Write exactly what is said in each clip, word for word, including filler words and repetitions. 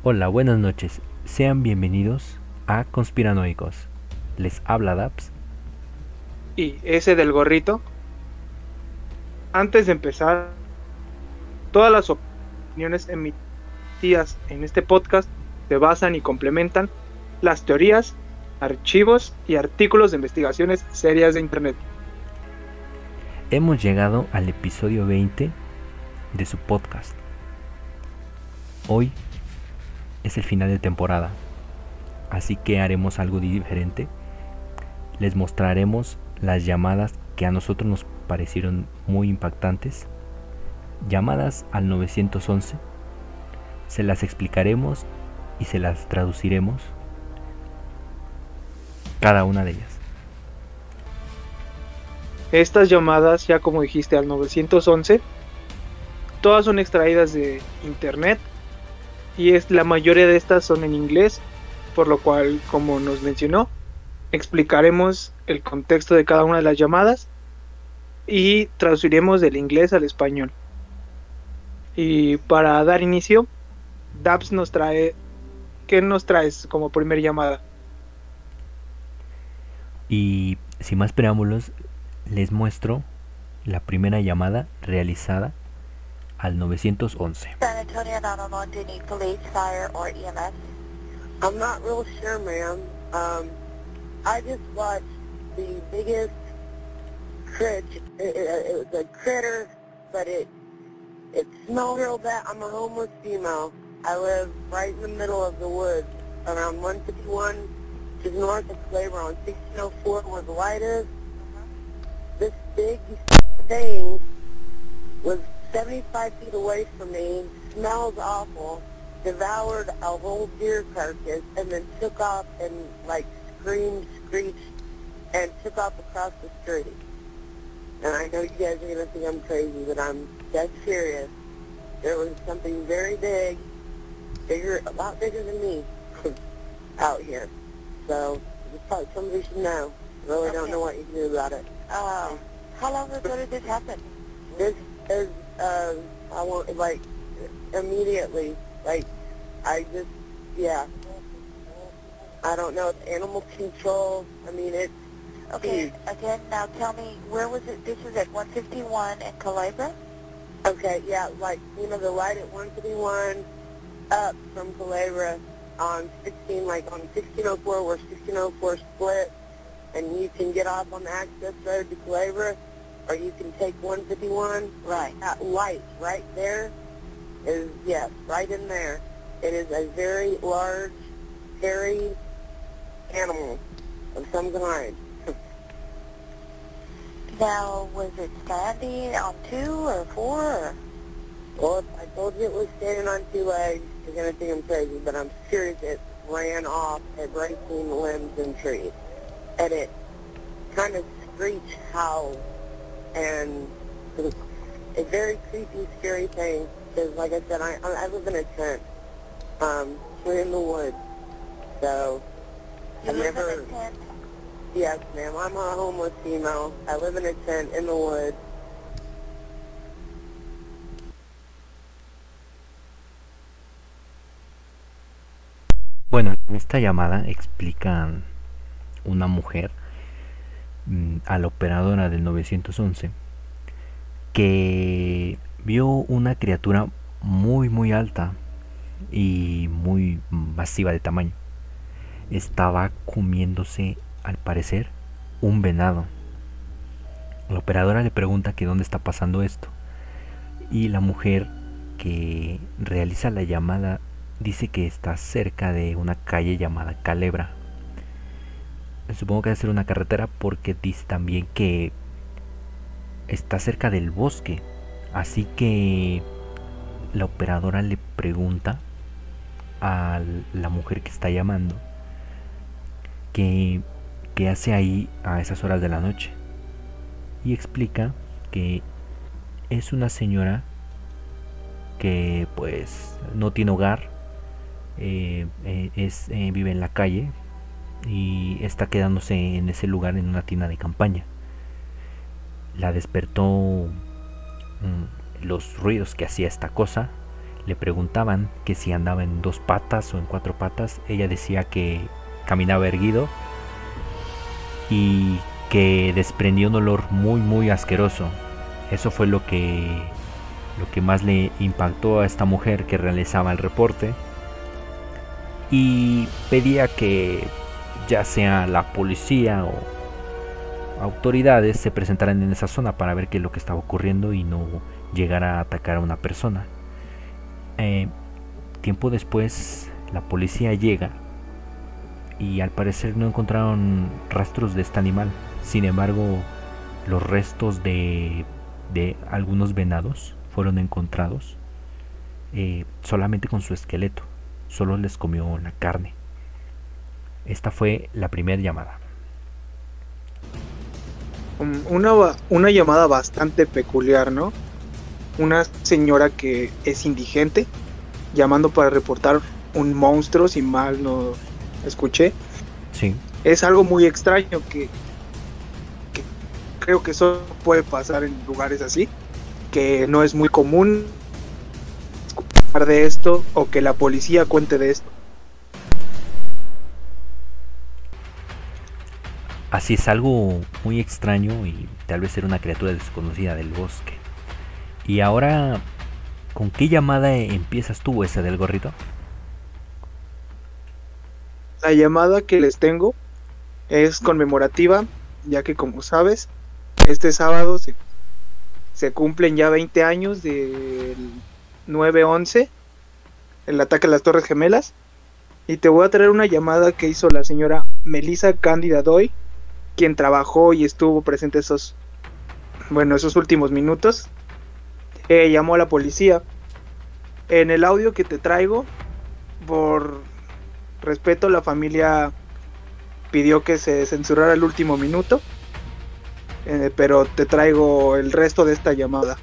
Hola, buenas noches. Sean bienvenidos a Conspiranoicos. Les habla Daps. Y ese del gorrito, antes de empezar, todas las opiniones emitidas en este podcast se basan y complementan las teorías, archivos y artículos de investigaciones serias de Internet. Hemos llegado al episodio veinte de su podcast. Hoy es el final de temporada, así que haremos algo diferente. Les mostraremos las llamadas que a nosotros nos parecieron muy impactantes. Llamadas al nueve once. Se las explicaremos y se las traduciremos, cada una de ellas. Estas llamadas, ya como dijiste, al nueve once, todas son extraídas de Internet y es, la mayoría de estas son en inglés, por lo cual, como nos mencionó, explicaremos el contexto de cada una de las llamadas y traduciremos del inglés al español. Y para dar inicio, Daps nos trae, ¿qué nos traes como primer llamada? Y sin más preámbulos, les muestro la primera llamada realizada al nueve once. San Antonio nine one one, do you need police, fire, or E M S? I'm not real sure, ma'am. Um, I just watched the biggest crit. It, it, it was a critter, but it it smelled real bad. I'm a homeless female. I live right in the middle of the woods, around one fifty-one, just north of Flavor on sixteen oh four, where the light is. This big thing was seventy-five feet away from me, smells awful, devoured a whole deer carcass, and then took off and, like, screamed, screeched, and took off across the street. And I know you guys are going to think I'm crazy, but I'm dead serious. There was something very big, bigger, a lot bigger than me, out here. So, just thought somebody should know. Really don't Okay. know what you can do about it. Uh, how long ago did this happen? This is, uh, I want, like, immediately, like, I just, yeah. I don't know, it's animal control. I mean, it's Okay, huge. again, now tell me, where was it? This is at one fifty-one in Calabria? Okay, yeah, like, you know, the light at one fifty-one up from Calabria on sixteen, like on sixteen oh four, where sixteen oh four split, and you can get off on the access road to Calabria, or you can take one fifty-one. Right. That light right there is, yes, right in there. It is a very large, hairy animal of some kind. Now, was it standing on two or four? Or? Well, if I told you it was standing on two legs, you're going to think I'm crazy, but I'm serious. It ran off at breaking limbs and trees. And it kind of screeched, howled, and a very creepy, scary thing. Because, like I said, I, I live in a tent. Um, we're in the woods. So, You I've live never... in a tent? Yes, ma'am. I'm a homeless female. I live in a tent in the woods. Bueno, en esta llamada explican una mujer mm, a la operadora del nueve once que vio una criatura muy muy alta y muy masiva de tamaño. Estaba comiéndose, al parecer, un venado. La operadora le pregunta que dónde está pasando esto, y la mujer que realiza la llamada dice que está cerca de una calle llamada Calebra. Supongo que debe ser una carretera, porque dice también que está cerca del bosque. Así que la operadora le pregunta a la mujer que está llamando que qué hace ahí a esas horas de la noche, y explica que es una señora que pues no tiene hogar, eh, eh, es, eh, vive en la calle y está quedándose en ese lugar en una tienda de campaña. La despertó mmm, los ruidos que hacía esta cosa, le preguntaban que si andaba en dos patas o en cuatro patas. Ella decía que caminaba erguido y que desprendía un olor muy muy asqueroso. Eso fue lo que lo que más le impactó a esta mujer que realizaba el reporte, y pedía que ya sea la policía o autoridades se presentaran en esa zona para ver qué es lo que estaba ocurriendo y no llegara a atacar a una persona. Eh, tiempo después la policía llega y al parecer no encontraron rastros de este animal. Sin embargo, los restos de, de algunos venados fueron encontrados, eh, solamente con su esqueleto. Solo les comió la carne. Esta fue la primera llamada. Una, una llamada bastante peculiar, ¿no? Una señora que es indigente llamando para reportar un monstruo, si mal no escuché. Sí. Es algo muy extraño que, que creo que solo puede pasar en lugares así, que no es muy común escuchar de esto o que la policía cuente de esto. Así es, algo muy extraño y tal vez era una criatura desconocida del bosque. Y ahora, ¿con qué llamada empiezas tú, esa del gorrito? La llamada que les tengo es conmemorativa, ya que como sabes, este sábado se, se cumplen ya veinte años del nueve once, el ataque a las Torres Gemelas, y te voy a traer una llamada que hizo la señora Melissa Cándida Doy, quien trabajó y estuvo presente esos, bueno, esos últimos minutos. Eh, llamó a la policía. En el audio que te traigo, por respeto, la familia pidió que se censurara el último minuto, eh, pero te traigo el resto de esta llamada.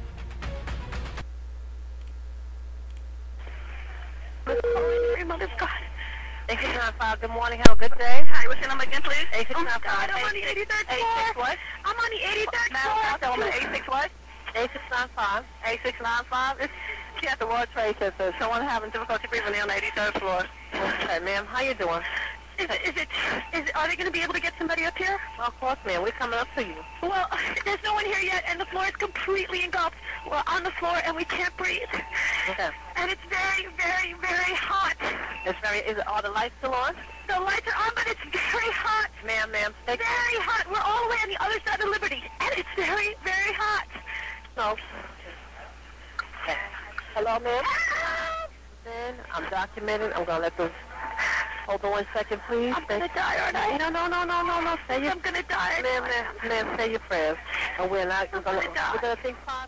eight six nine five, good morning, have a good day. Hi, what's your number again, please? eight six nine five, I'm on the eighty-third floor. What? I'm on the eighty-third floor. Tell me eight six what? eight six nine five. eight six nine five? It's she at the World Trade Center. Someone having difficulty breathing on the eighty-third floor. Okay, ma'am, how you doing? Is it, is it, is it, are they going to be able to get somebody up here? Well, of course, ma'am. We're coming up to you. Well, there's no one here yet, and the floor is completely engulfed. We're on the floor, and we can't breathe. Okay. And it's very, very, very hot. It's very, is it, are the lights still on? The lights are on, but it's very hot. Ma'am, ma'am. Very hot. We're all the way on the other side of Liberty, and it's very, very hot. No. Okay. Hello, ma'am? Then I'm documenting. I'm going to let them... Hold on one second, please. I'm gonna die, aren't I? No, no, no, no, no, no. Say your... I'm gonna die. Ma'am, ma'am, ma'am, say your prayers. And we're not I'm gonna, gonna die. We're gonna think positive.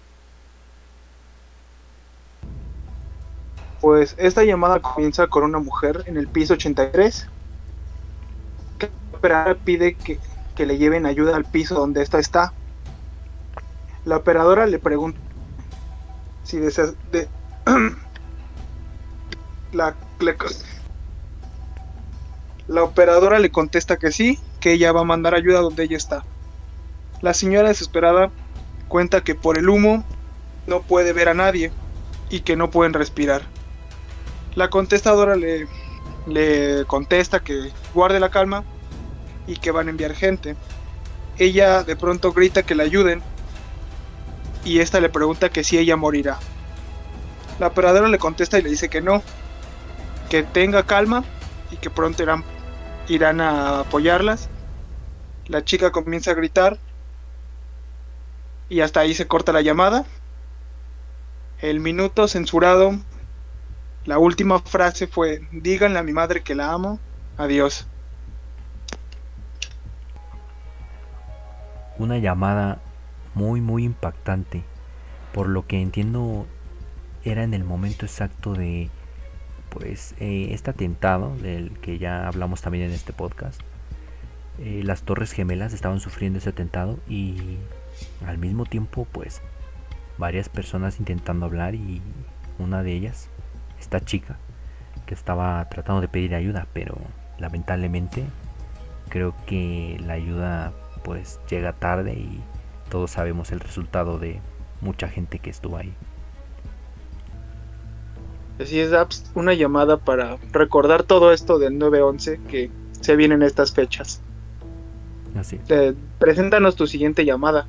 Pues esta llamada comienza con una mujer en el piso ochenta y tres. Que la operadora pide que, que le lleven ayuda al piso donde esta está. La operadora le pregunta si desea... De, la... Le, La operadora le contesta que sí, que ella va a mandar ayuda donde ella está. La señora desesperada cuenta que por el humo no puede ver a nadie y que no pueden respirar. La contestadora le, le contesta que guarde la calma y que van a enviar gente. Ella de pronto grita que la ayuden y esta le pregunta que si ella morirá. La operadora le contesta y le dice que no, que tenga calma y que pronto irán, irán a apoyarlas. La chica comienza a gritar y hasta ahí se corta la llamada. El minuto censurado, la última frase fue: díganle a mi madre que la amo, adiós. Una llamada muy muy impactante. Por lo que entiendo, era en el momento exacto de pues eh, este atentado del que ya hablamos también en este podcast. Eh, las Torres Gemelas estaban sufriendo ese atentado y al mismo tiempo pues varias personas intentando hablar, y una de ellas, esta chica que estaba tratando de pedir ayuda, pero lamentablemente creo que la ayuda pues llega tarde y todos sabemos el resultado de mucha gente que estuvo ahí. Así es, Abs, una llamada para recordar todo esto del nueve once que se vienen estas fechas. Así. Eh, preséntanos tu siguiente llamada.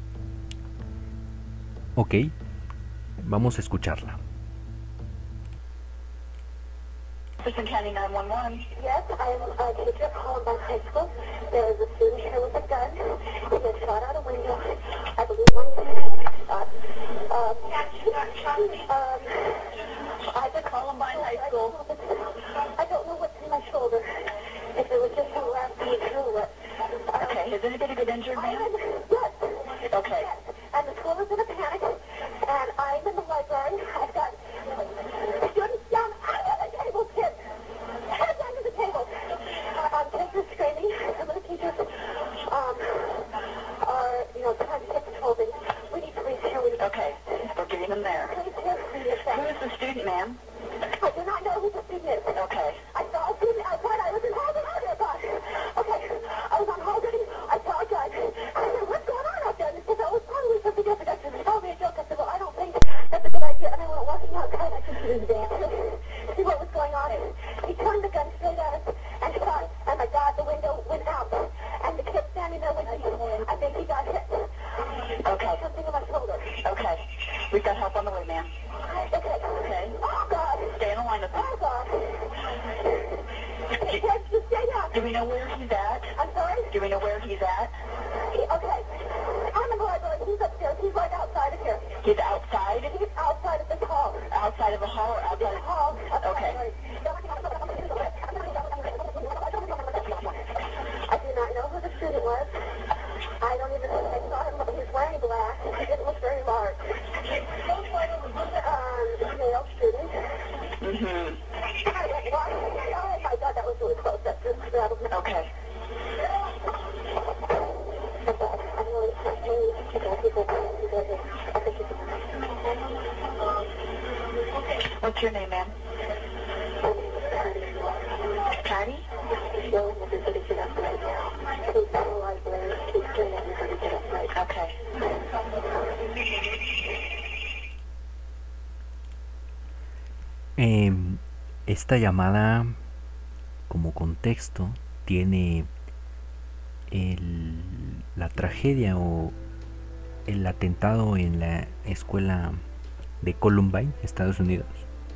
Ok, vamos a escucharla. Jefferson County nine one one. Yes, I'm a teacher at Columbine High School. There is a student here with a gun. He was shot out a window. I believe one shot. Um, um, I at Columbine High School. I don't know what's in my shoulder. If it was just a last week or what. Okay, has anybody been injured, ma'am? Yes. Okay. Yes. And the school is in a panic. And I'm in the library. I've got students down under the table, kids. Heads under the table. Uh, um, kids are screaming. Some of the teachers um, are, you know, trying to take control of it. We need police here. We need okay. We're getting them there. Police here. We need a Who is the student, ma'am? I do not know who the student is. Okay. I saw a student outside. I was in hall duty. Oh, gosh. Okay. I was on hall duty. I saw a gun. I said, what's going on out there? And they said, oh, it's probably something different. I said, it's probably a joke. I said, well, I don't think that's a good idea. And I went walking outside. I could see his dance. See what was going on. He turned the gun straight at us and shot. And my God, the window went out. And the kid standing there with me, I think he got hit. Okay. Something on my shoulder. Okay. We've got help on the way, ma'am. Okay. Okay. Oh, God. Stay in the line with me. Oh, God. He said to stay down. Do we know where he's at? I'm sorry? Do we know where he's at? He, okay. I'm in the library. He's upstairs. He's right outside of here. He's outside? He's outside of this hall. Outside of the hall or outside of the hall? Okay. I do not know who the student was. I don't even think I saw him. He was wearing black. He didn't look very large. Um, male student. Mm-hmm. I went walking. Oh my God, that was really close. That just rattled me. Okay. I'm really What's your name, ma'am? Patty? Okay. Eh, esta llamada, como contexto, tiene el, la tragedia o el atentado en la escuela de Columbine, Estados Unidos.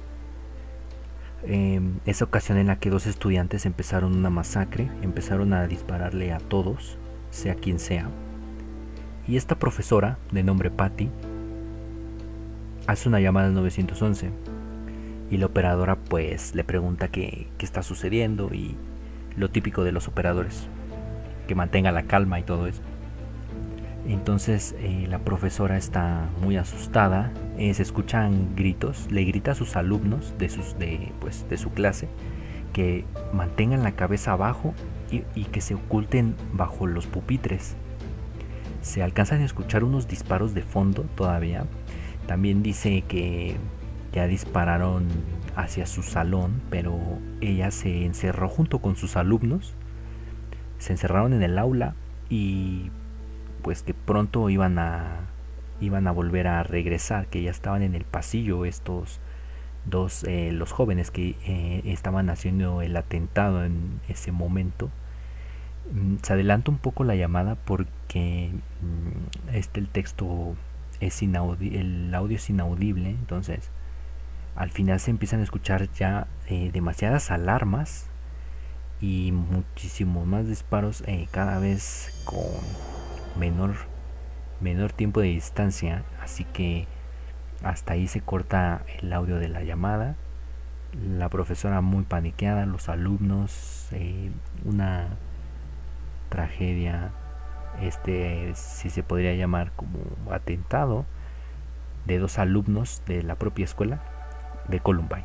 Eh, esa ocasión en la que dos estudiantes empezaron una masacre, empezaron a dispararle a todos, sea quien sea. Y esta profesora, de nombre Patty, hace una llamada al nueve once. Y la operadora pues le pregunta qué, qué está sucediendo y lo típico de los operadores, que mantenga la calma y todo eso. Entonces eh, la profesora está muy asustada, eh, se escuchan gritos, le grita a sus alumnos de, sus, de, pues, de su clase que mantengan la cabeza abajo y, y que se oculten bajo los pupitres. Se alcanzan a escuchar unos disparos de fondo todavía. También dice que ya dispararon hacia su salón, pero ella se encerró junto con sus alumnos, se encerraron en el aula y pues que pronto iban a iban a volver a regresar, que ya estaban en el pasillo estos dos, eh, los jóvenes que eh, estaban haciendo el atentado en ese momento. Se adelanta un poco la llamada porque este el texto es inaudible, el audio es inaudible, entonces al final se empiezan a escuchar ya eh, demasiadas alarmas y muchísimos más disparos, eh, cada vez con menor menor tiempo de distancia, así que hasta ahí se corta el audio de la llamada. La profesora muy paniqueada, los alumnos, eh, una tragedia, este si se podría llamar como atentado de dos alumnos de la propia escuela de Columbine.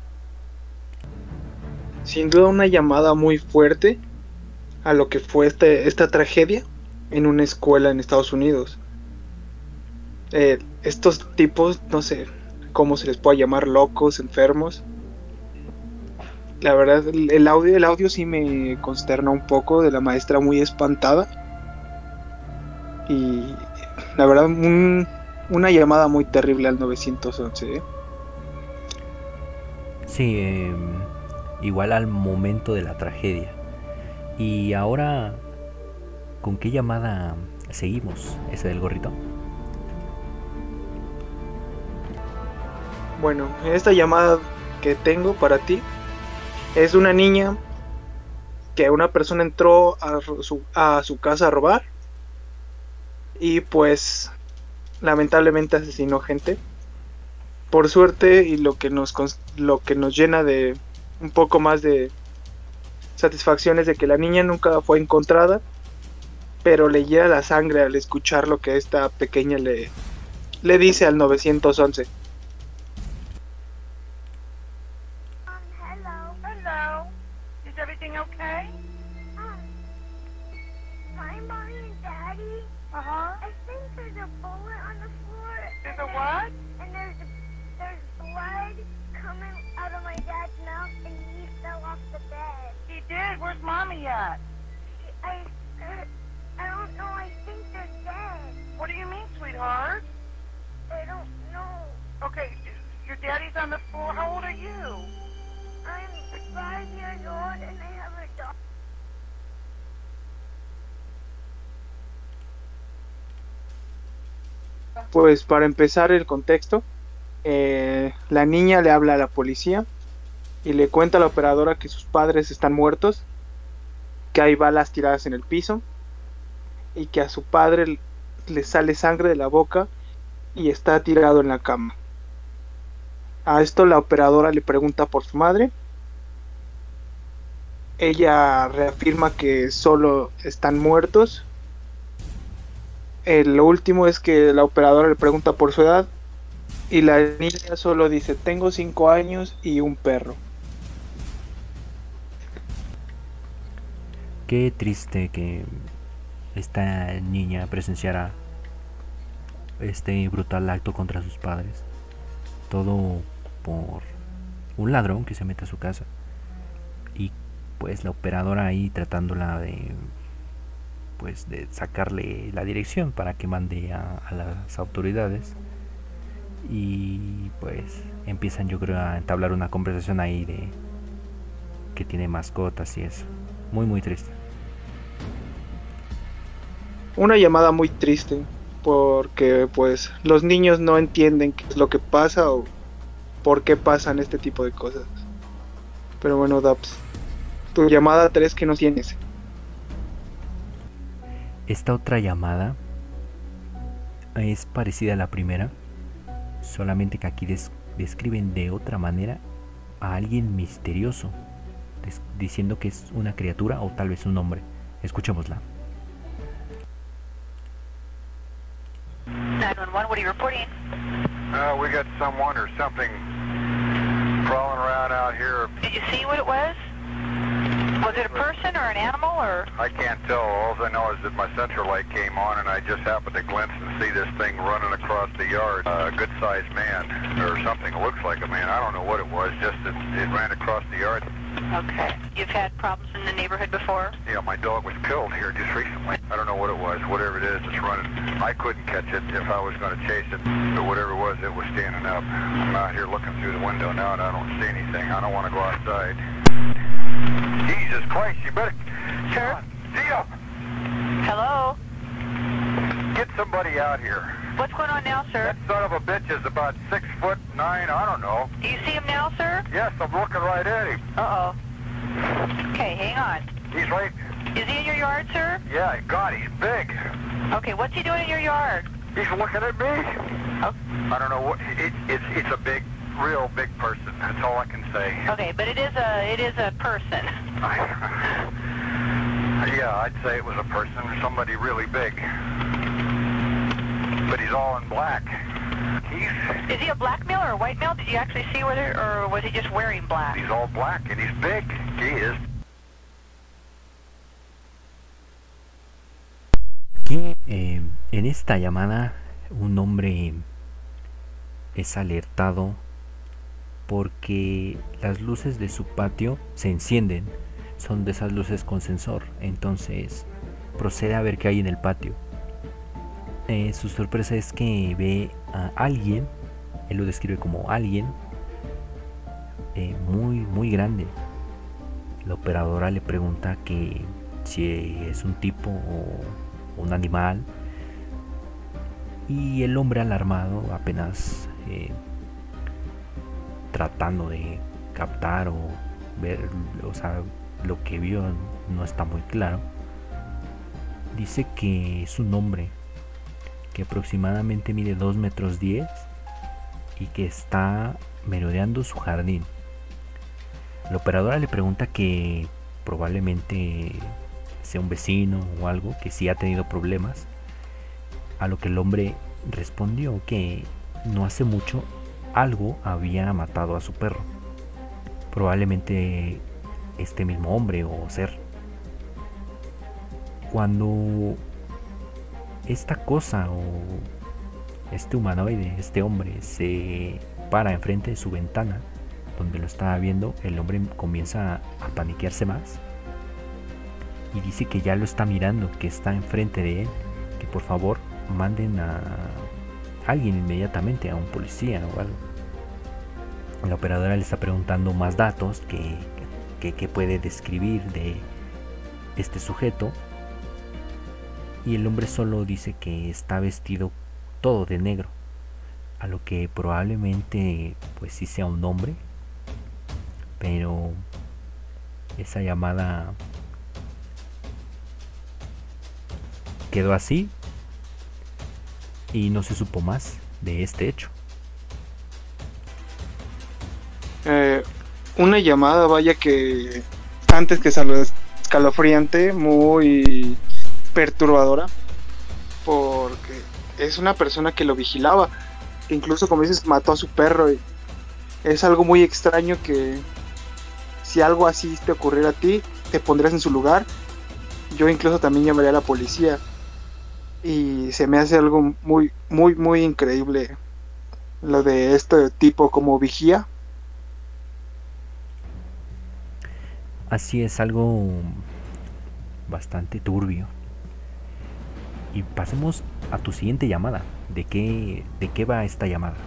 Sin duda una llamada muy fuerte a lo que fue este, esta tragedia en una escuela en Estados Unidos. Eh, estos tipos, no sé cómo se les puede llamar, locos, enfermos. La verdad, el, el audio, el audio sí me consterna un poco, de la maestra muy espantada. Y la verdad, un, una llamada muy terrible al nueve once, ¿eh? Sí, eh, igual al momento de la tragedia. Y ahora, ¿con qué llamada seguimos? ¿Ese del gorrito? Bueno, esta llamada que tengo para ti es una niña que una persona entró a su, a su casa a robar y pues lamentablemente asesinó gente. Por suerte, y lo que nos lo que nos llena de un poco más de satisfacción es de que la niña nunca fue encontrada, pero le hiela la sangre al escuchar lo que esta pequeña le, le dice al nueve once. Um, hello. Hello. Is everything okay? Um, my mommy and daddy. Uh-huh. I think there's a bullet on the floor. There's a what? And there's there's blood coming out of my dad's mouth, and he fell off the bed. He did? Where's mommy at? I, uh, I don't know. I think they're dead. What do you mean, sweetheart? I don't know. Okay, your daddy's on the floor. How old are you? I'm five years old and I have a dog. Pues para empezar el contexto, eh, la niña le habla a la policía y le cuenta a la operadora que sus padres están muertos, que hay balas tiradas en el piso y que a su padre le sale sangre de la boca y está tirado en la cama. A esto la operadora le pregunta por su madre. Ella reafirma que solo están muertos. Eh, lo último es que la operadora le pregunta por su edad y la niña solo dice: tengo cinco años y un perro. Qué triste que esta niña presenciara este brutal acto contra sus padres. Todo por un ladrón que se mete a su casa. Y pues la operadora ahí tratándola de pues de sacarle la dirección para que mande a, a las autoridades. Y pues empiezan, yo creo, a entablar una conversación ahí de que tiene mascotas y eso. Muy muy triste. Una llamada muy triste, porque pues los niños no entienden qué es lo que pasa o por qué pasan este tipo de cosas. Pero bueno, Daps, tu llamada tres que no tienes. Esta otra llamada es parecida a la primera, solamente que aquí des- describen de otra manera a alguien misterioso, des- diciendo que es una criatura o tal vez un hombre. Escuchémosla. nine one one, what are you reporting? Uh, we got someone or something crawling around out here. Did you see what it was? Was it a person or an animal or? I can't tell. All I know is that my central light came on and I just happened to glimpse and see this thing running across the yard. Uh, a good-sized man or something. It looks like a man. I don't know what it was, just that it ran across the yard. Okay. You've had problems in the neighborhood before? Yeah, my dog was killed here just recently. I don't know what it was. Whatever it is, it's running. I couldn't catch it if I was going to chase it. But whatever it was, it was standing up. I'm out here looking through the window now and I don't see anything. I don't want to go outside. Jesus Christ, you better... Sure. Zia! Hello? Get somebody out here. What's going on now, sir? That son of a bitch is about six foot nine, I don't know. Do you see him now, sir? Yes, I'm looking right at him. Uh-oh. Okay, hang on. He's right... Is he in your yard, sir? Yeah, God, he's big. Okay, what's he doing in your yard? He's looking at me. Oh. I don't know what... It, it's, it's a big, real big person. That's all I can say. Okay, but it is a it is a person. Yeah, I'd say it was a person, somebody really big. But he's all in black. He's... Is he a black male or a white male? Did you actually see whether, or was he just wearing black? He's all black and he's big. He is. Que eh, en esta llamada un hombre es alertado porque las luces de su patio se encienden. Son de esas luces con sensor. Entonces procede a ver qué hay en el patio. Eh, su sorpresa es que ve a alguien. Él lo describe como alguien eh, muy muy grande. La operadora le pregunta que si es un tipo o un animal, y el hombre alarmado, apenas eh, tratando de captar o ver, o sea, lo que vio no está muy claro, dice que es un hombre que aproximadamente mide dos metros diez y que está merodeando su jardín. La operadora le pregunta que probablemente sea un vecino o algo, que sí ha tenido problemas, a lo que el hombre respondió que no hace mucho algo había matado a su perro, probablemente este mismo hombre o ser. Cuando esta cosa o este humanoide, este hombre, se para enfrente de su ventana donde lo estaba viendo, el hombre comienza a paniquearse más y dice que ya lo está mirando, que está enfrente de él, que por favor manden a alguien inmediatamente, a un policía o algo. La operadora le está preguntando más datos que, que, que puede describir de este sujeto, y el hombre solo dice que está vestido todo de negro, a lo que probablemente pues sí sea un hombre, pero esa llamada quedó así y no se supo más de este hecho. Eh, una llamada, vaya que antes que salió escalofriante, muy perturbadora, porque es una persona que lo vigilaba, que incluso, como dices, mató a su perro, y es algo muy extraño que si algo así te ocurriera a ti, te pondrías en su lugar. Yo incluso también llamaría a la policía, y se me hace algo muy, muy, muy increíble lo de este tipo como vigía. Así es, algo bastante turbio. Y pasemos a tu siguiente llamada. ¿De qué, de qué va esta llamada?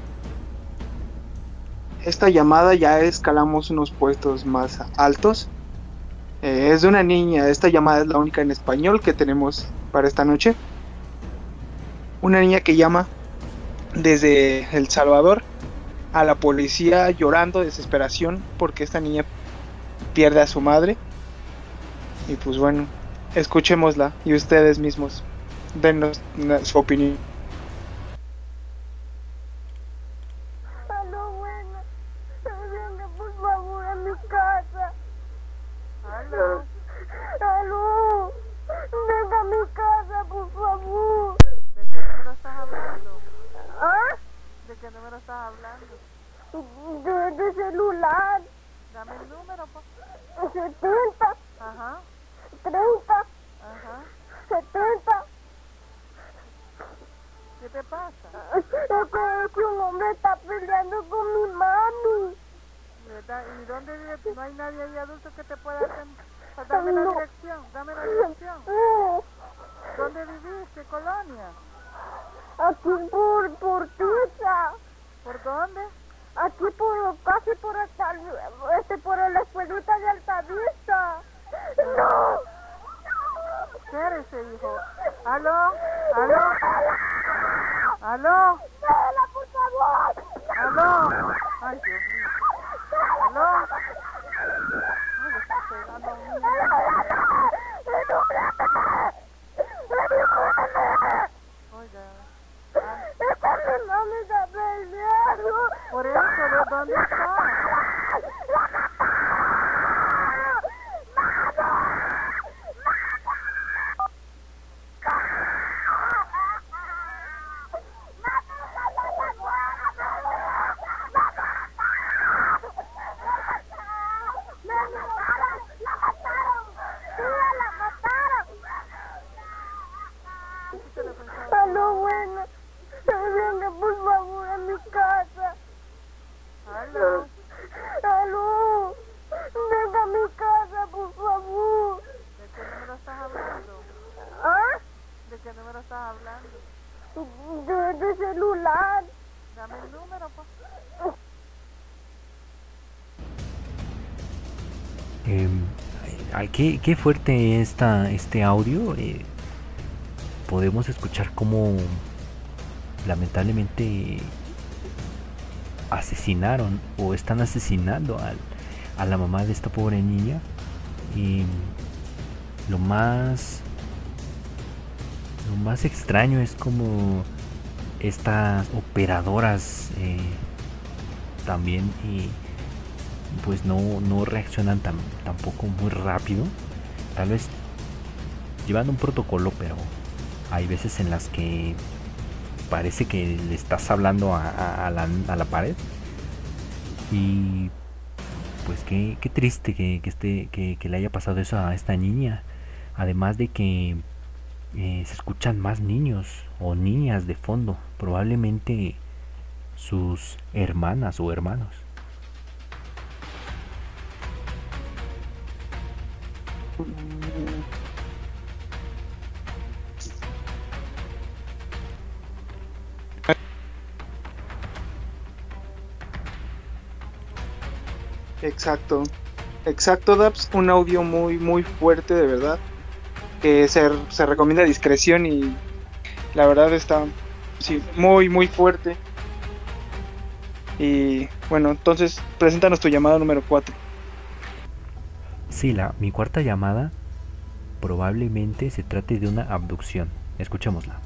Esta llamada ya escalamos unos puestos más altos. Eh, es de una niña. Esta llamada es la única en español que tenemos para esta noche. Una niña que llama desde El Salvador a la policía llorando de desesperación porque esta niña pierde a su madre. Y pues bueno, escuchémosla y ustedes mismos denos su opinión. Aló, bueno, venga por favor a mi casa. Aló, aló, venga a mi casa, por favor. ¿De qué número estás hablando? ¿Ah? ¿De qué número estás hablando? De, de celular. Dame el número, pues. setenta, Ajá, treinta, ajá. setenta. ¿Qué te pasa? Es que, es que un hombre está peleando con mi mami. ¿Verdad? ¿Y dónde vives? ¿No hay nadie ahí adulto que te pueda hacer? Pues dame la No. dirección, dame la dirección. Eh, ¿Dónde vivís? ¿Qué colonia? Aquí por, por Tiza. ¿Por dónde? Aquí por, casi por hasta, este, por la escuelita de Altavista. No. Espérese, hijo. ¿Aló? ¿Aló? ¿Aló? ¡Déjala, por favor! ¿Aló? Ay, Dios mío. ¿Aló? Ay, le está pegando a un niño. Oiga. Ah, ¡Es que mi mami está peleando! por eso, ¿de dónde está? Eh, ay, qué, qué fuerte está este audio. Eh, podemos escuchar cómo lamentablemente asesinaron o están asesinando al, a la mamá de esta pobre niña. Y lo más lo más extraño es como estas operadoras eh, también y pues no, no reaccionan tan, tampoco muy rápido, tal vez llevando un protocolo, pero hay veces en las que parece que le estás hablando a, a, a, la, a la pared. Y pues qué, qué triste que, que, esté, que, que le haya pasado eso a esta niña. Además de que eh, se escuchan más niños o niñas de fondo, probablemente sus hermanas o hermanos. Exacto, exacto, Daps, un audio muy, muy fuerte, de verdad, que se, se recomienda discreción y la verdad está, sí, muy, muy fuerte. Y bueno, entonces, preséntanos tu llamada número cuatro. Sí, la, mi cuarta llamada probablemente se trate de una abducción. Escuchémosla.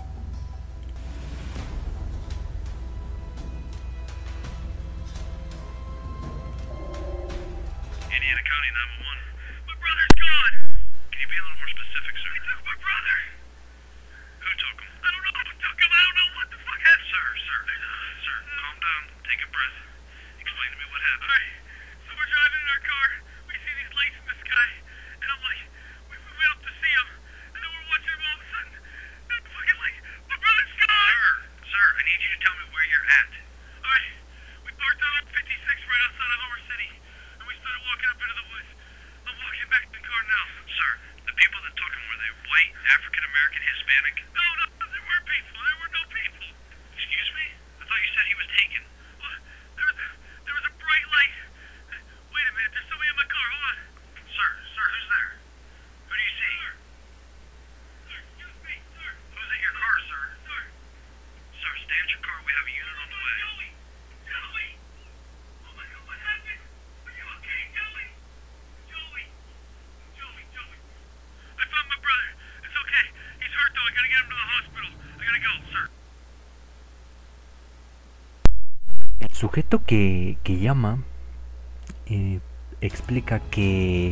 El sujeto que, que llama eh, explica que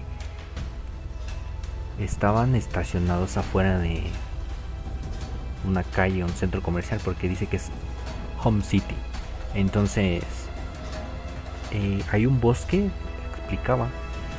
estaban estacionados afuera de una calle, un centro comercial, porque dice que es Home City. Entonces eh, hay un bosque, explicaba,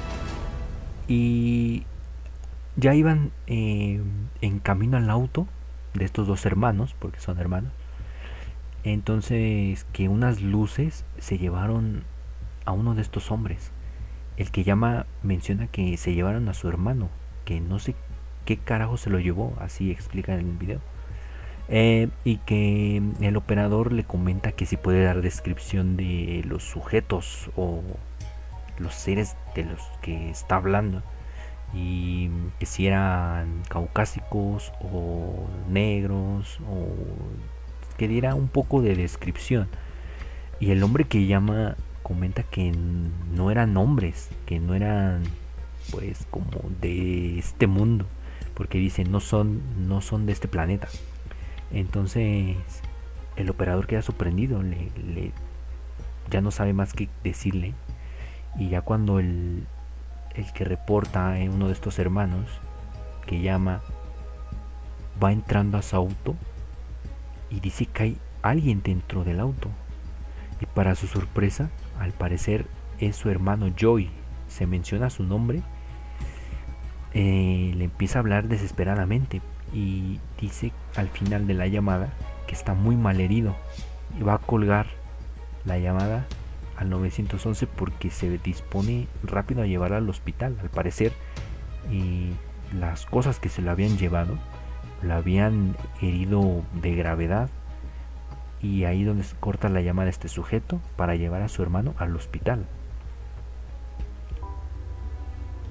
y ya iban eh, en camino al auto de estos dos hermanos, porque son hermanos. Entonces que unas luces se llevaron a uno de estos hombres. El que llama menciona que se llevaron a su hermano, que no sé qué carajo se lo llevó, así explica en el video. Eh, y que el operador le comenta que si puede dar descripción de los sujetos o los seres de los que está hablando, y que si eran caucásicos o negros, o que diera un poco de descripción. Y el hombre que llama comenta que no eran hombres, que no eran pues como de este mundo, porque dice no son no son de este planeta. Entonces el operador queda sorprendido, le, le ya no sabe más qué decirle. Y ya cuando el el que reporta, eh, uno de estos hermanos que llama, va entrando a su auto y dice que hay alguien dentro del auto. Y para su sorpresa, al parecer es su hermano Joey. Se menciona su nombre. Eh, le empieza a hablar desesperadamente y dice al final de la llamada que está muy mal herido y va a colgar la llamada al nueve once porque se dispone rápido a llevar al hospital. Al parecer, y las cosas que se lo habían llevado lo habían herido de gravedad, y ahí donde se corta la llamada a este sujeto para llevar a su hermano al hospital.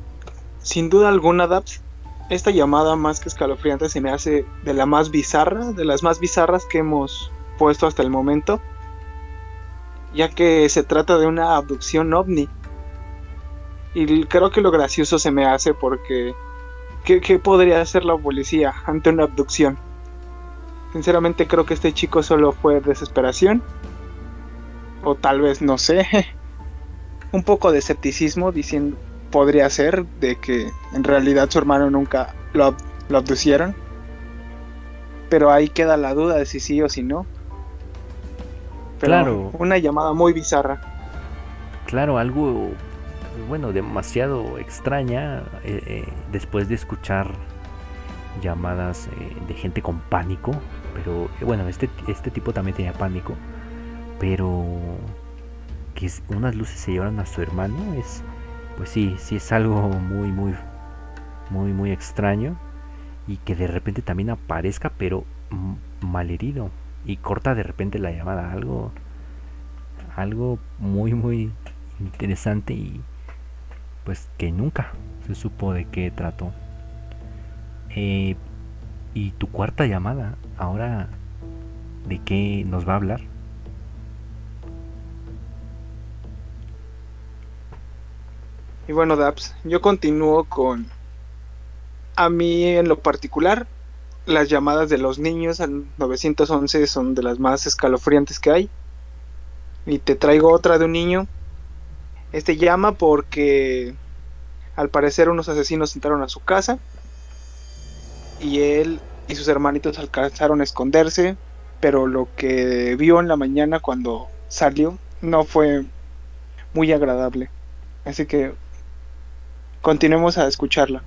sin duda alguna, Daps, esta llamada más que escalofriante se me hace de la más bizarra, de las más bizarras que hemos puesto hasta el momento, ya que se trata de una abducción ovni. Y creo que lo gracioso se me hace porque ¿qué, qué podría hacer la policía ante una abducción? Sinceramente creo que este chico solo fue desesperación, o tal vez, no sé, un poco de escepticismo, diciendo, podría ser de que en realidad su hermano nunca lo, ab- lo abducieron, pero ahí queda la duda de si sí o si no. Pero Claro. una llamada muy bizarra. Claro, algo, bueno, demasiado extraña, eh, eh, después de escuchar llamadas eh, de gente con pánico, pero eh, bueno, este, este tipo también tenía pánico, pero que es- unas luces se llevaron a su hermano, es, pues sí, sí es algo muy, muy, muy, muy extraño, y que de repente también aparezca, pero mm, malherido, y corta de repente la llamada, algo, algo muy, muy interesante, y pues que nunca se supo de qué trató. Eh, y tu cuarta llamada, ahora, ¿de qué nos va a hablar? Y bueno, Daps, yo continúo con, a mí en lo particular, las llamadas de los niños al nueve once son de las más escalofriantes que hay. Y te traigo otra de un niño. Este llama porque al parecer unos asesinos entraron a su casa y él y sus hermanitos alcanzaron a esconderse, pero lo que vio en la mañana cuando salió no fue muy agradable. Así que continuemos a escucharla.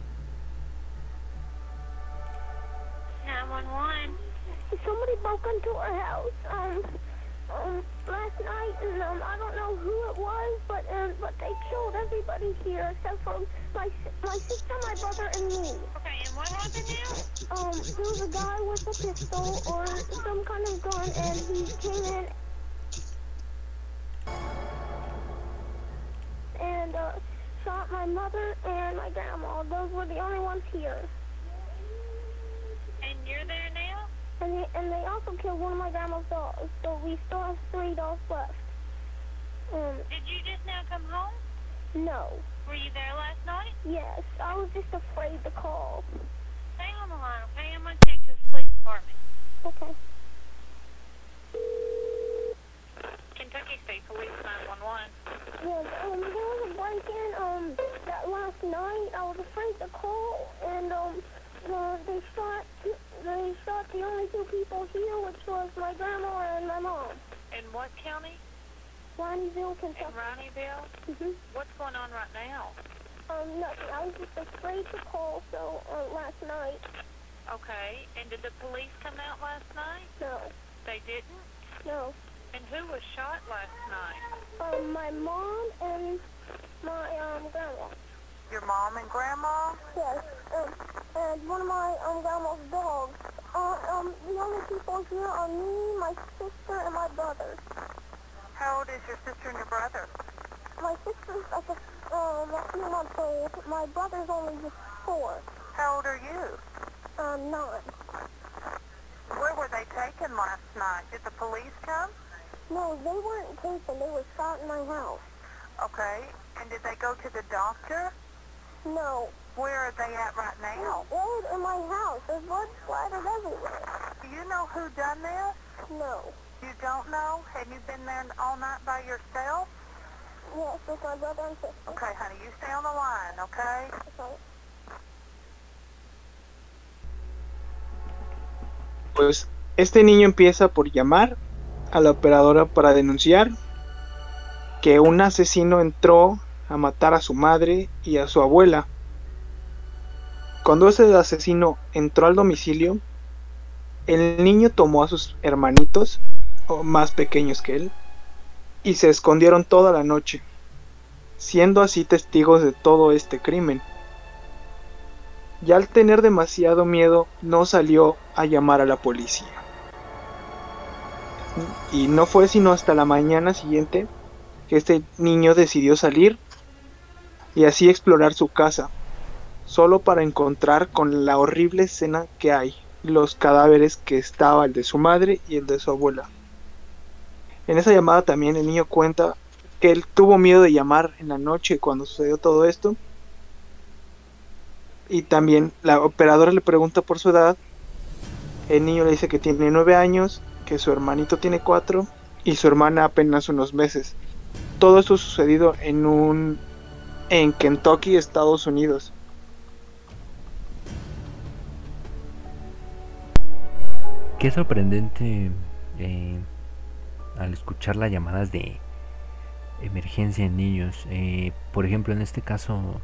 nine one one. Somebody broke into our house um, um, last night, and um, I don't know who it was, but um, but they killed everybody here except for my si- my sister, my brother, and me. Okay, and what happened now? Um, there was a guy with a pistol or some kind of gun, and he came in and uh, shot my mother and my grandma. Those were the only ones here. And you're there now? And they, and they also killed one of my grandma's dogs, so we still have three dogs left. Um, Did you just now come home? No. Were you there last night? Yes, I was just afraid to call. Stay on the line, okay? I'm going to take you to the police department. Okay. Kentucky State Police nine one one. Yes, um, there was a break-in, um, that last night. I was afraid to call, and, um, uh, they shot, they shot the only two people here, which was my grandma and my mom. In what county? Ronnieville, Kentucky. In Ronnieville? Mm-hmm. What's going on right now? Um, nothing. I was just afraid to call, so, uh, last night. Okay, and did the police come out last night? No. They didn't? No. And who was shot last night? Um, my mom and my, um, grandma. Your mom and grandma? Yes, um, and one of my, um, grandma's dogs. Uh, um, the only people here are me, my sister, and my brother. How old is your sister and your brother? My sister's like a, um, a few months old. My brother's only just four. How old are you? Um, nine. Where were they taken last night? Did the police come? No, they weren't taken. They were shot in my house. Okay, and did they go to the doctor? No. Where are they at right now? They're in my house. There's blood splattered everywhere. Do you know who done this? No. You don't know? Have you been there all night by yourself? Yes, with my brother and sister. Okay, honey, you stay on the line, okay? Okay. Pues este niño empieza por llamar a la operadora para denunciar que un asesino entró a matar a su madre y a su abuela. Cuando ese asesino entró al domicilio, el niño tomó a sus hermanitos, o más pequeños que él, y se escondieron toda la noche, siendo así testigos de todo este crimen. Y al tener demasiado miedo, no salió a llamar a la policía. Y no fue sino hasta la mañana siguiente que este niño decidió salir y así explorar su casa. solo para encontrar con la horrible escena que hay, los cadáveres que estaba el de su madre y el de su abuela. En esa llamada también el niño cuenta que él tuvo miedo de llamar en la noche cuando sucedió todo esto. Y también la operadora le pregunta por su edad. El niño le dice que tiene nueve años, que su hermanito tiene cuatro y su hermana apenas unos meses. Todo esto sucedido en un en Kentucky, Estados Unidos. Qué sorprendente eh, al escuchar las llamadas de emergencia en niños. Eh, por ejemplo, en este caso,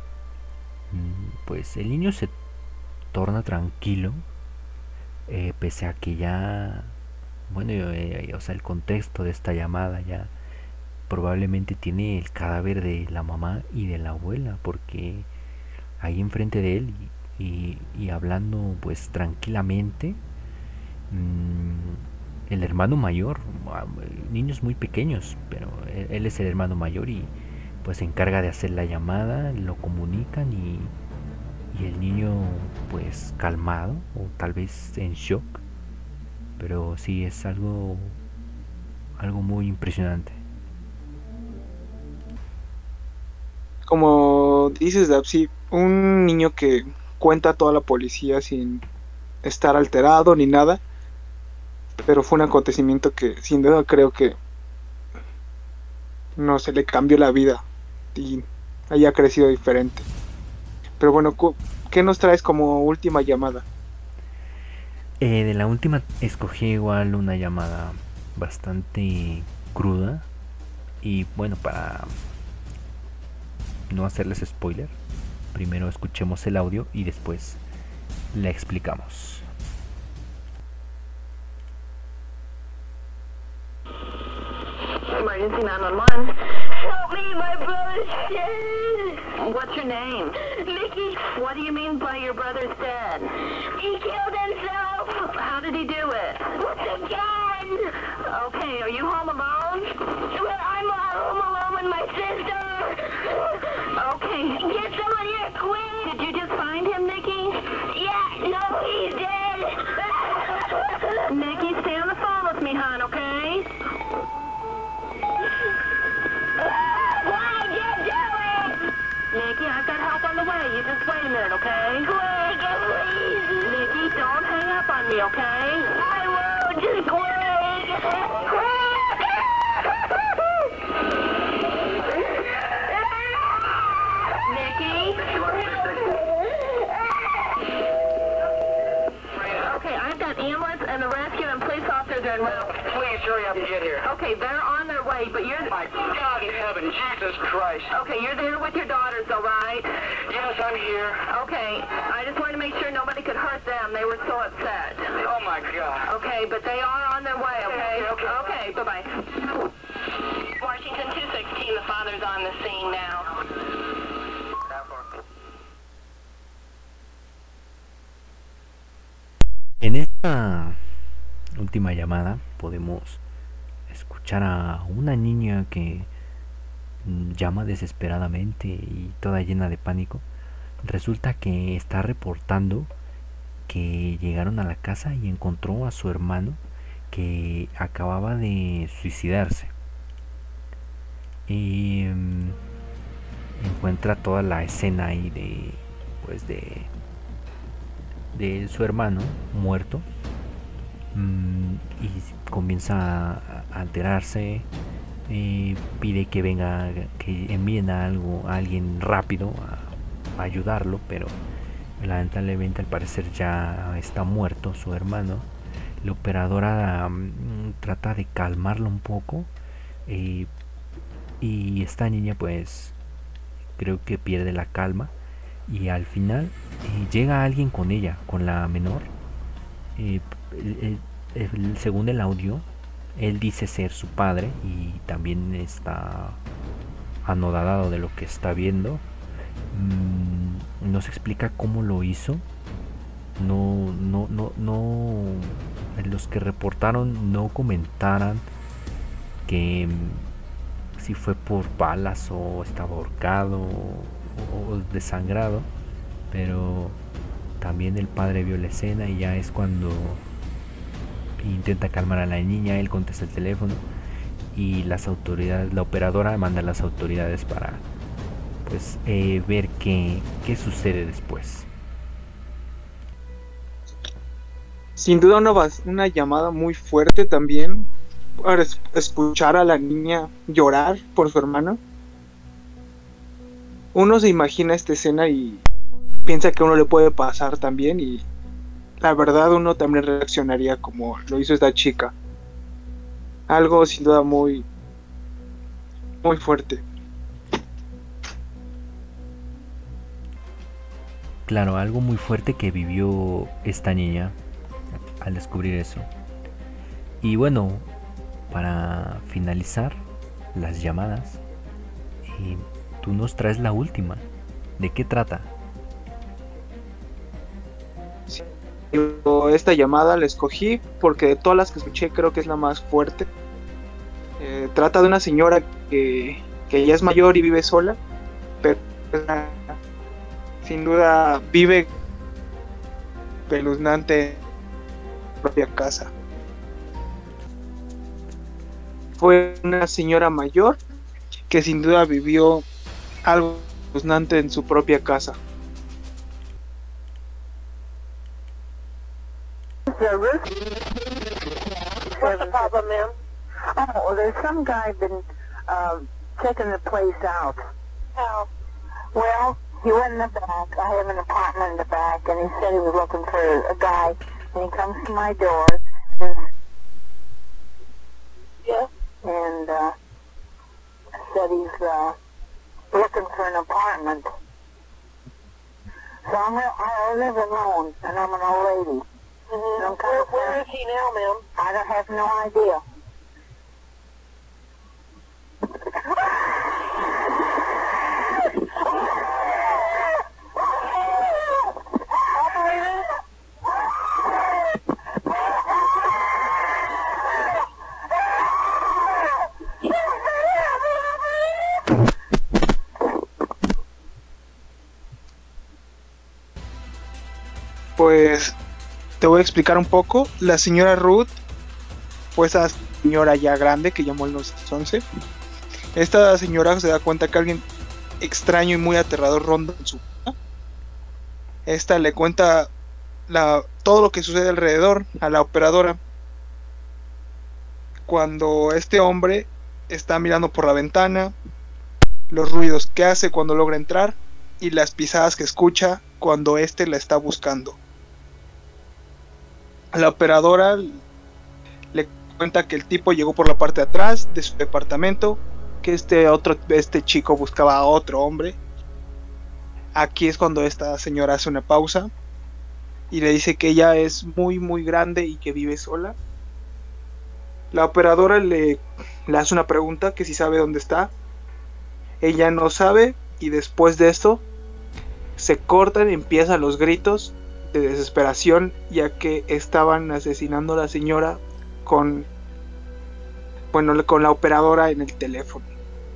pues el niño se torna tranquilo, eh, pese a que ya, bueno, eh, o sea, el contexto de esta llamada ya probablemente tiene el cadáver de la mamá y de la abuela, porque ahí enfrente de él y, y, y hablando pues tranquilamente, mmm, el hermano mayor, niños muy pequeños, pero él, él es el hermano mayor y pues se encarga de hacer la llamada, lo comunican y, y el niño pues calmado o tal vez en shock, pero sí es algo algo muy impresionante. Como dices, Dapsi, un niño que cuenta a toda la policía sin estar alterado ni nada, pero fue un acontecimiento que sin duda creo que no se le cambió la vida y haya crecido diferente. Pero bueno, ¿qué nos traes como última llamada? Eh, de la última escogí igual una llamada bastante cruda y bueno, para no hacerles spoiler, primero escuchemos el audio y después la explicamos. Emergency nine one one. Help me, my brother's dead. What's your name? Mickey. What do you mean by your brother's dead? He killed himself. How did he do it? With a gun. Okay, are you home alone? Well, I'm home alone with my sister. Okay. Get someone here quick. Did you just find him, Nikki? Yeah, no, he's dead. Nikki, stay on the phone with me, hon, okay? Why'd you do it? Nikki, I've got help on the way. You just wait a minute, okay? Quick, please. Nikki, don't hang up on me, okay? I won't. Just quick. Quick. Nikki? Okay, I've got ambulance and the rescue and police officers are en route. Please hurry up and get here. Okay, they're on their way, but you're... My God in heaven, Jesus Christ. Okay, you're there with your daughters, all right? Yes, I'm here. Okay, I just wanted to make sure nobody could hurt them. They were so upset. Oh, my God. Okay, but they are on their way, okay? Okay, okay. Okay, bye-bye. Washington two sixteen, the father's on the scene now. En esta última llamada podemos escuchar a una niña que llama desesperadamente y toda llena de pánico. Resulta que está reportando que llegaron a la casa y encontró a su hermano que acababa de suicidarse. Y um, encuentra toda la escena ahí de pues de de su hermano muerto, mmm, y comienza a alterarse, eh, pide que venga, que envíen a algo a alguien rápido a, a ayudarlo, pero lamentablemente al parecer ya está muerto su hermano. La operadora um, trata de calmarlo un poco, eh, y esta niña pues creo que pierde la calma. Y al final eh, llega alguien con ella, con la menor. Eh, el, el, el, según el audio, él dice ser su padre y también está anodadado de lo que está viendo. Mm, nos explica cómo lo hizo. No, no, no, no. Los que reportaron no comentaran que mm, si fue por balas o estaba ahorcado o desangrado, pero también el padre vio la escena y ya es cuando intenta calmar a la niña. Él contesta el teléfono y las autoridades, la operadora manda a las autoridades para pues eh, ver qué, qué sucede después. Sin duda una, una llamada muy fuerte también para es, escuchar a la niña llorar por su hermano. Uno se imagina esta escena y piensa que a uno le puede pasar también, y la verdad uno también reaccionaría como lo hizo esta chica. Algo sin duda muy muy fuerte. Claro, algo muy fuerte que vivió esta niña al descubrir eso. Y bueno, para finalizar las llamadas, eh, tú nos traes la última. ¿De qué trata? Sí, esta llamada la escogí porque de todas las que escuché creo que es la más fuerte. Eh, trata de una señora que, que ya es mayor y vive sola, pero sin duda vive espeluznante en su propia casa. Fue una señora mayor que sin duda vivió algo espeluznante en su propia casa. What's the problem, ma'am? Oh, well, there's some guy been uh, checking the place out. How? Well, he went in the back. I have an apartment in the back, and he said he was looking for a guy. And he comes to my door. And, yeah. And uh, said he's uh, looking for an apartment. So I'm, I live alone, and I'm an old lady. Mm-hmm. And I'm kind where, of where is he now, ma'am? I don't have no idea. Pues te voy a explicar un poco. La señora Ruth fue esa señora ya grande que llamó al nueve once. Esta señora se da cuenta que alguien extraño y muy aterrador ronda en su casa. Esta le cuenta la, todo lo que sucede alrededor a la operadora. Cuando este hombre está mirando por la ventana, los ruidos que hace cuando logra entrar y las pisadas que escucha cuando éste la está buscando. La operadora le cuenta que el tipo llegó por la parte de atrás de su departamento, que este otro este chico buscaba a otro hombre. Aquí es cuando esta señora hace una pausa y le dice que ella es muy muy grande y que vive sola. La operadora le, le hace una pregunta, que si sabe dónde está. Ella no sabe, y después de esto se cortan y empiezan los gritos de desesperación, ya que estaban asesinando a la señora con bueno con la operadora en el teléfono.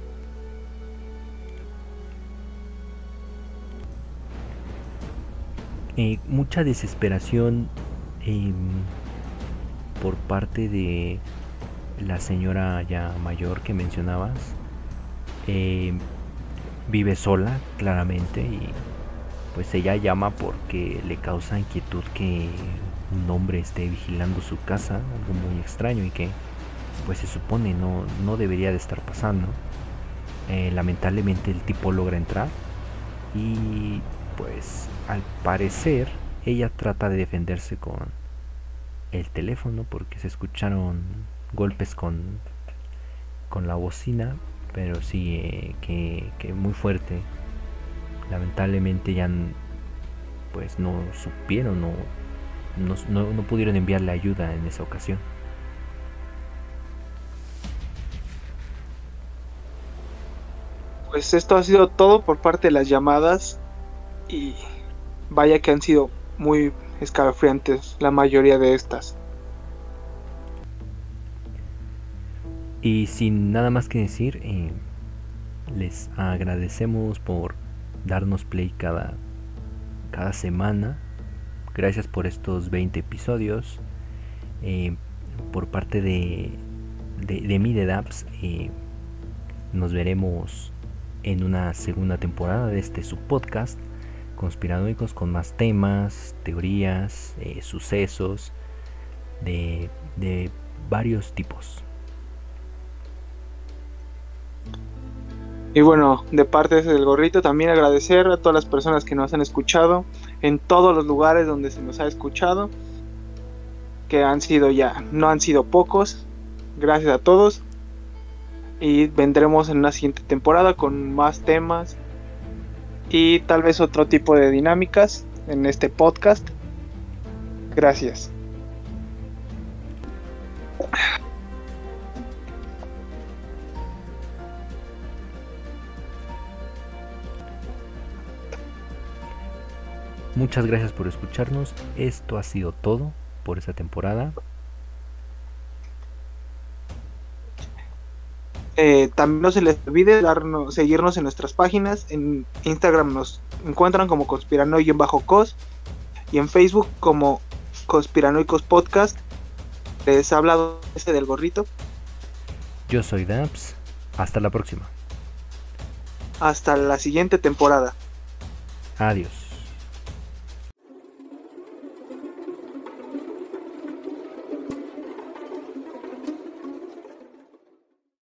Eh, mucha desesperación eh, por parte de la señora ya mayor que mencionabas. Eh, vive sola, claramente, y pues ella llama porque le causa inquietud que un hombre esté vigilando su casa, algo muy extraño y que pues se supone no, no debería de estar pasando. Eh, lamentablemente el tipo logra entrar y pues al parecer ella trata de defenderse con el teléfono porque se escucharon golpes con, con la bocina, pero sí eh, que, que muy fuerte. Lamentablemente ya pues no supieron, no, no, no, no pudieron enviarle ayuda en esa ocasión. Pues esto ha sido todo por parte de las llamadas, y vaya que han sido muy escalofriantes la mayoría de estas. Y sin nada más que decir, eh, les agradecemos por darnos play cada cada semana. Gracias por estos veinte episodios. Eh, por parte de, de, de mí, de Daps, eh, nos veremos en una segunda temporada de este subpodcast Conspiranoicos, con más temas, teorías, eh, sucesos de, de varios tipos. Y bueno, de parte del Gorrito, también agradecer a todas las personas que nos han escuchado en todos los lugares donde se nos ha escuchado, que han sido ya, no han sido pocos. Gracias a todos, y vendremos en una siguiente temporada con más temas y tal vez otro tipo de dinámicas en este podcast. Gracias. Muchas gracias por escucharnos. Esto ha sido todo por esta temporada. Eh, también no se les olvide darnos, seguirnos en nuestras páginas. En Instagram nos encuentran como Conspiranoico-Cos y en Facebook como Conspiranoicos Podcast. Les ha hablado ese del Gorrito. Yo soy Daps. Hasta la próxima. Hasta la siguiente temporada. Adiós.